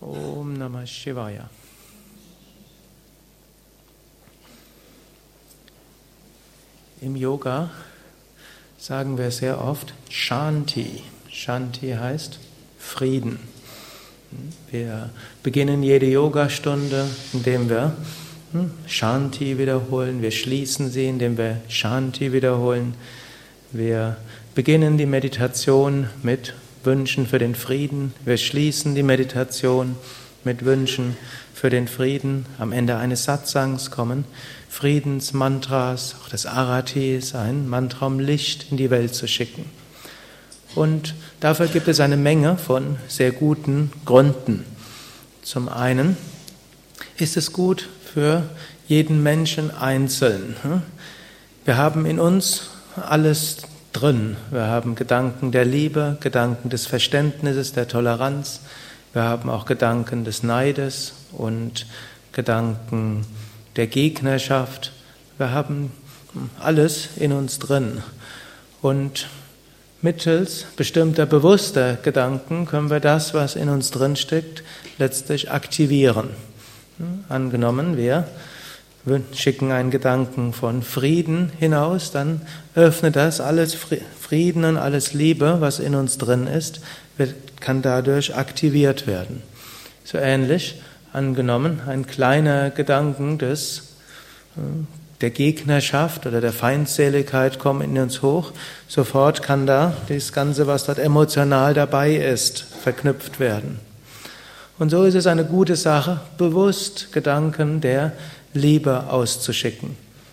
Om Namah Shivaya. Im Yoga sagen wir sehr oft Shanti. Shanti heißt Frieden. Wir beginnen jede Yogastunde, indem wir Shanti wiederholen. Wir schließen sie, indem wir Shanti wiederholen. Wir beginnen die Meditation mit Wünschen für den Frieden. Wir schließen die Meditation mit Wünschen für den Frieden. Am Ende eines Satsangs kommen Friedensmantras, auch das Arati ist ein Mantra, um Licht in die Welt zu schicken. Und dafür gibt es eine Menge von sehr guten Gründen. Zum einen ist es gut für jeden Menschen einzeln. Wir haben in uns alles drin. Wir haben Gedanken der Liebe, Gedanken des Verständnisses, der Toleranz. Wir haben auch Gedanken des Neides und Gedanken der Gegnerschaft. Wir haben alles in uns drin. Und mittels bestimmter bewusster Gedanken können wir das, was in uns drin steckt, letztlich aktivieren. Angenommen, wir schicken einen Gedanken von Frieden hinaus, dann öffnet das alles Frieden und alles Liebe, was in uns drin ist, kann dadurch aktiviert werden. So ähnlich, angenommen, ein kleiner Gedanken der Gegnerschaft oder der Feindseligkeit kommt in uns hoch, sofort kann da das Ganze, was dort emotional dabei ist, verknüpft werden. Und so ist es eine gute Sache, bewusst Gedanken der Liebe auszuschicken.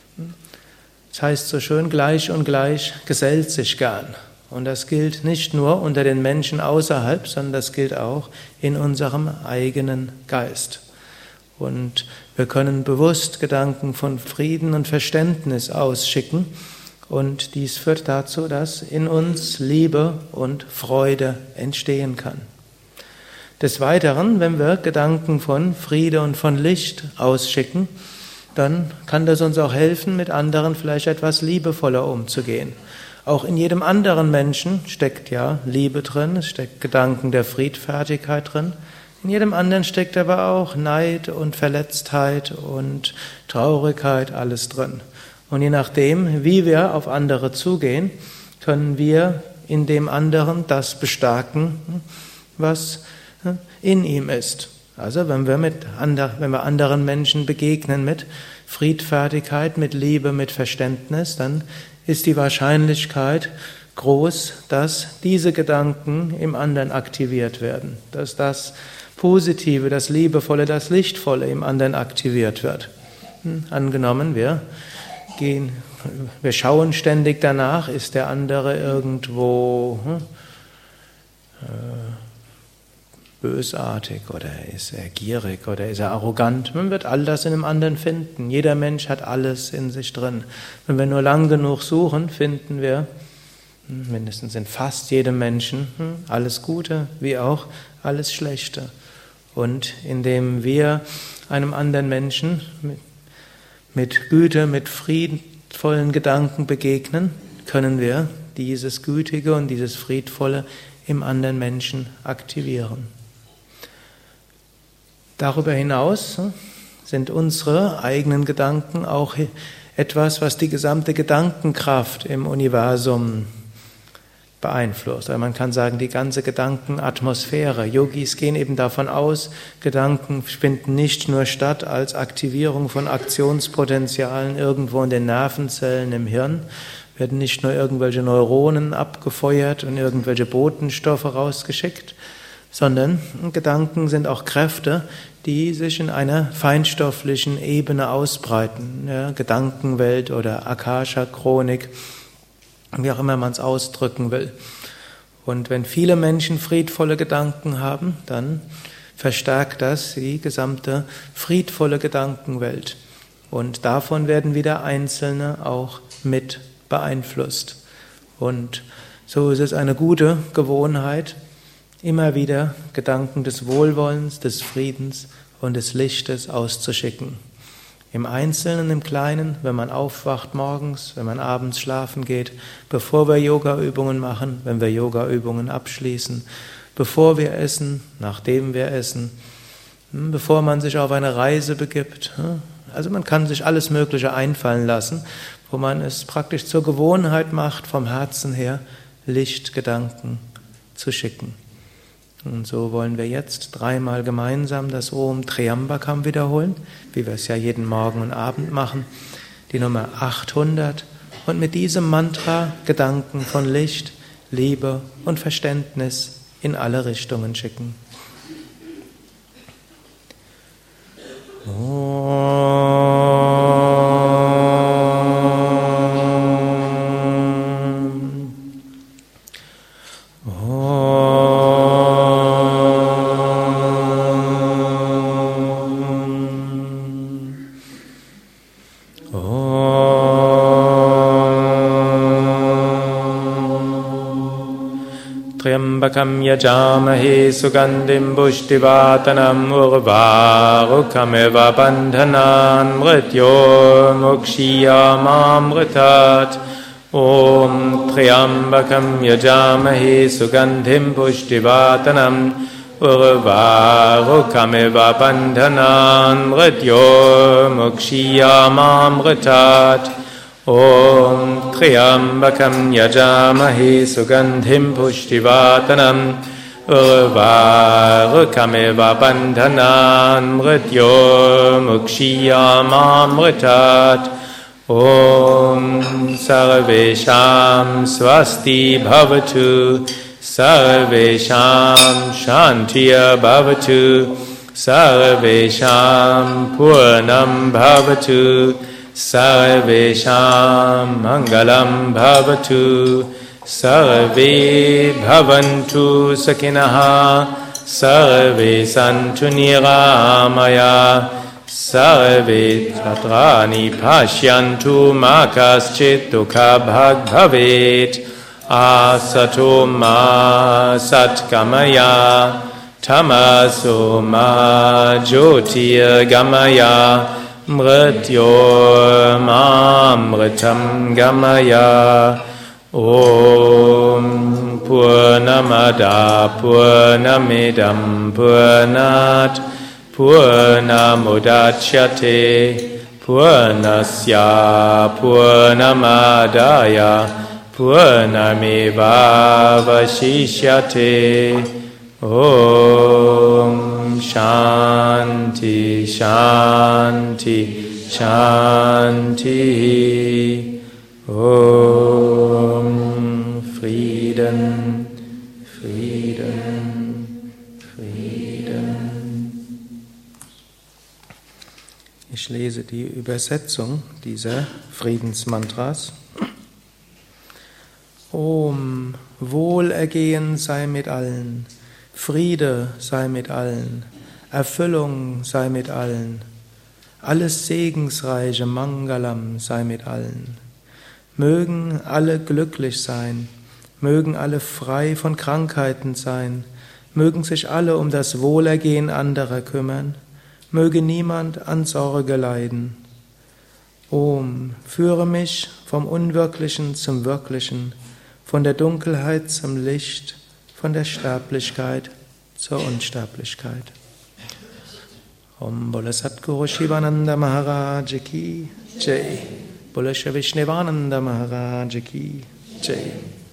Das heißt so schön, gleich und gleich gesellt sich gern. Und das gilt nicht nur unter den Menschen außerhalb, sondern das gilt auch in unserem eigenen Geist. Und wir können bewusst Gedanken von Frieden und Verständnis ausschicken. Und dies führt dazu, dass in uns Liebe und Freude entstehen kann. Des Weiteren, wenn wir Gedanken von Friede und von Licht ausschicken, dann kann das uns auch helfen, mit anderen vielleicht etwas liebevoller umzugehen. Auch in jedem anderen Menschen steckt ja Liebe drin, es steckt Gedanken der Friedfertigkeit drin. In jedem anderen steckt aber auch Neid und Verletztheit und Traurigkeit, alles drin. Und je nachdem, wie wir auf andere zugehen, können wir in dem anderen das bestärken, was in ihm ist. Also wenn wir anderen Menschen begegnen mit Friedfertigkeit, mit Liebe, mit Verständnis, dann ist die Wahrscheinlichkeit groß, dass diese Gedanken im anderen aktiviert werden, dass das Positive, das Liebevolle, das Lichtvolle im anderen aktiviert wird. Angenommen, wir schauen ständig danach, ist der andere irgendwo bösartig oder ist er gierig oder ist er arrogant. Man wird all das in einem anderen finden. Jeder Mensch hat alles in sich drin. Wenn wir nur lang genug suchen, finden wir mindestens in fast jedem Menschen alles Gute wie auch alles Schlechte. Und indem wir einem anderen Menschen mit Güte, mit friedvollen Gedanken begegnen, können wir dieses Gütige und dieses Friedvolle im anderen Menschen aktivieren. Darüber hinaus sind unsere eigenen Gedanken auch etwas, was die gesamte Gedankenkraft im Universum beeinflusst. Also man kann sagen, die ganze Gedankenatmosphäre. Yogis gehen eben davon aus, Gedanken finden nicht nur statt als Aktivierung von Aktionspotenzialen irgendwo in den Nervenzellen im Hirn, werden nicht nur irgendwelche Neuronen abgefeuert und irgendwelche Botenstoffe rausgeschickt, sondern Gedanken sind auch Kräfte, die sich in einer feinstofflichen Ebene ausbreiten. Ja, Gedankenwelt oder Akasha-Chronik, wie auch immer man es ausdrücken will. Und wenn viele Menschen friedvolle Gedanken haben, dann verstärkt das die gesamte friedvolle Gedankenwelt. Und davon werden wieder Einzelne auch mit beeinflusst. Und so ist es eine gute Gewohnheit, immer wieder Gedanken des Wohlwollens, des Friedens und des Lichtes auszuschicken. Im Einzelnen, im Kleinen, wenn man aufwacht morgens, wenn man abends schlafen geht, bevor wir Yoga-Übungen machen, wenn wir Yoga-Übungen abschließen, bevor wir essen, nachdem wir essen, bevor man sich auf eine Reise begibt. Also man kann sich alles Mögliche einfallen lassen, wo man es praktisch zur Gewohnheit macht, vom Herzen her Lichtgedanken zu schicken. Und so wollen wir jetzt dreimal gemeinsam das Om Triambakam wiederholen, wie wir es ja jeden Morgen und Abend machen, die Nummer 800, und mit diesem Mantra Gedanken von Licht, Liebe und Verständnis in alle Richtungen schicken. Triambakam yajamahe sugandhim pushtivatanam urvarukamiva bandhanan mrityo mukshiyamamritat. Om Triambakam yajamahe sugandhim pushtivatanam urvarukamiva bandhanan mrityo mukshiyamamritat. Om Triambakam yajamahe sugandhim pushtivatanam urvarukamiva bandhanan mrityo mukshiyamamritat. Om Sarvesham Swasti Bhavatu, Sarvesham Shantiya Bhavatu, Sarvesham Purnam Bhavatu, Sarvesham Mangalam Bhavatu, Sarve Bhavantu Sakinaha, Sarve Santu Niramaya, Sarve Chatrani Pashyantu Makaschit Dukha Bhag Bhavet, Asato Ma Satkamaya, Tamaso Ma Jyotir Gamaya, Mrityo Mamritam Gamaya. Om Purnamada Purnamidam Purnat Purnamudachyate Purnasya Purnamadaya Purnameva Vashishyate. Om Shanti Shanti Shanti. Om Frieden, Frieden, Frieden. Ich lese die Übersetzung dieser Friedensmantras. Om, Wohlergehen sei mit allen, Friede sei mit allen, Erfüllung sei mit allen, alles Segensreiche Mangalam sei mit allen. Mögen alle glücklich sein, mögen alle frei von Krankheiten sein, mögen sich alle um das Wohlergehen anderer kümmern, möge niemand an Sorge leiden. Om, führe mich vom Unwirklichen zum Wirklichen, von der Dunkelheit zum Licht, von der Sterblichkeit zur Unsterblichkeit. Om Bole Satguru Shivananda Maharaj Ki Jai. Bole Shri Vishnevananda Maharaj Ki Jai.